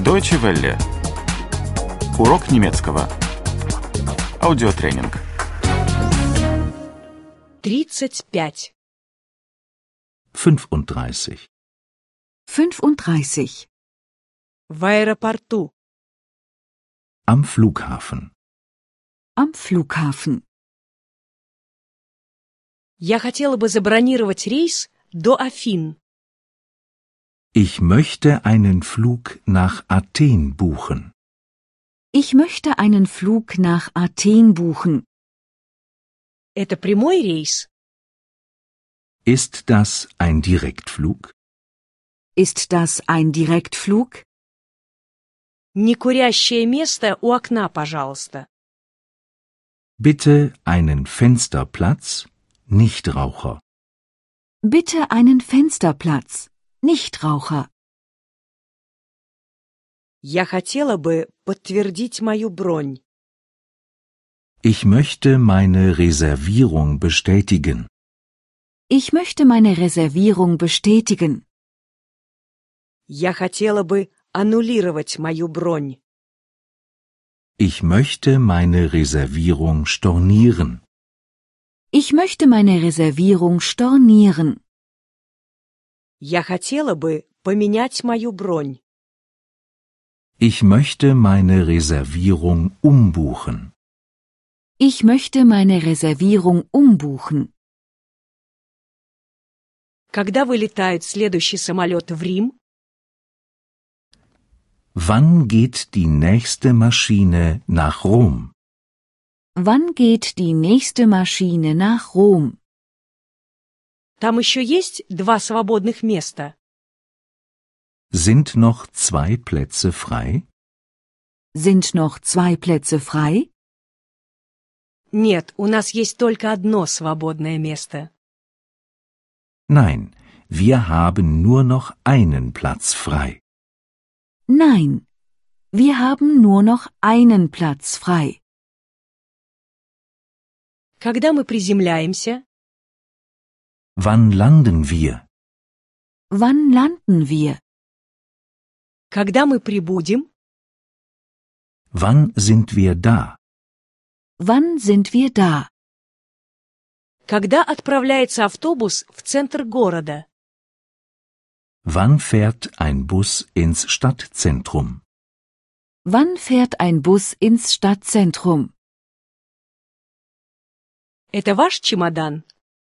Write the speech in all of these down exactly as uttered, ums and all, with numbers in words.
Deutsche Welle. Урок немецкого. Аудиотренинг. Тридцать пять. fünfunddreißig. fünfunddreißig. В аэропорту. Am Flughafen. Am Flughafen. Я хотела бы забронировать рейс до Афин. Ich möchte einen Flug nach Athen buchen. Ich möchte einen Flug nach Athen buchen. Это прямой рейс? Ist das ein Direktflug? Ist das ein Direktflug? Некурящее место у окна, пожалуйста. Bitte einen Fensterplatz, Nichtraucher. Bitte einen Fensterplatz. Nichtraucher. Я хотела бы подтвердить мою бронь. Ich möchte meine Reservierung bestätigen. Ich möchte meine Reservierung bestätigen. Я хотела бы аннулировать мою бронь. Ich möchte meine Reservierung stornieren. Ich möchte meine Reservierung stornieren. Я хотела бы поменять мою бронь. Ich möchte meine Reservierung umbuchen. Ich möchte meine Reservierung umbuchen. Когда вылетает следующий самолет в Рим? Wann geht die nächste Maschine nach Rom? Wann geht die nächste Maschine nach Rom? Там еще есть два свободных места. Sind noch zwei Plätze frei? Sind noch zwei Plätze frei? Нет, у нас есть только одно свободное место. Nein, wir haben nur noch einen Platz frei. Nein, wir haben nur noch einen Platz frei. Когда мы приземляемся? Wann landen wir? Wann landen wir? Когда мы прибудем? Wann sind wir da? Wann sind wir da? Когда отправляется автобус в центр города? Wann fährt ein Bus ins Stadtzentrum? Wann fährt ein Bus ins Stadtzentrum? Это ваш чемодан?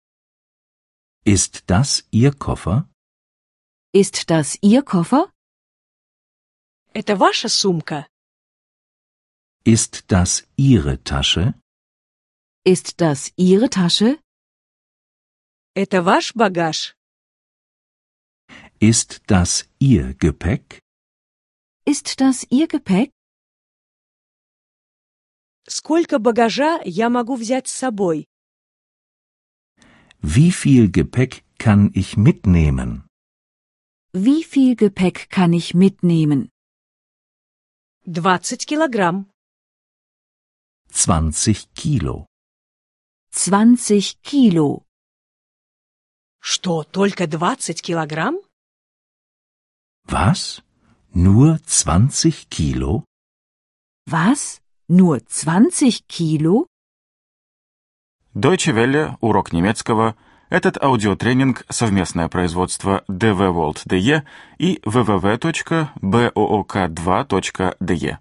Ist das Ihr Koffer? Ist das Ihr Koffer? Это ваша сумка? Ist das Ihre Tasche? Ist das Ihre Tasche? Это ваш багаж? Ist das Ihr Gepäck? Ist das Ihr Gepäck? Сколько багажа я могу взять с собой? Wie viel Gepäck kann ich mitnehmen? Wie viel Gepäck kann ich mitnehmen? Двадцать килограмм. zwanzig Kilo. zwanzig Kilo. Что, только двадцать килограмм? Was? Nur zwanzig Kilo? Was? Nur zwanzig Kilo? Deutsche Welle. Урок немецкого. Этот аудиотренинг — совместное производство дэ вэ World точка дэ и дабл ю дабл ю дабл ю точка боок два точка дэ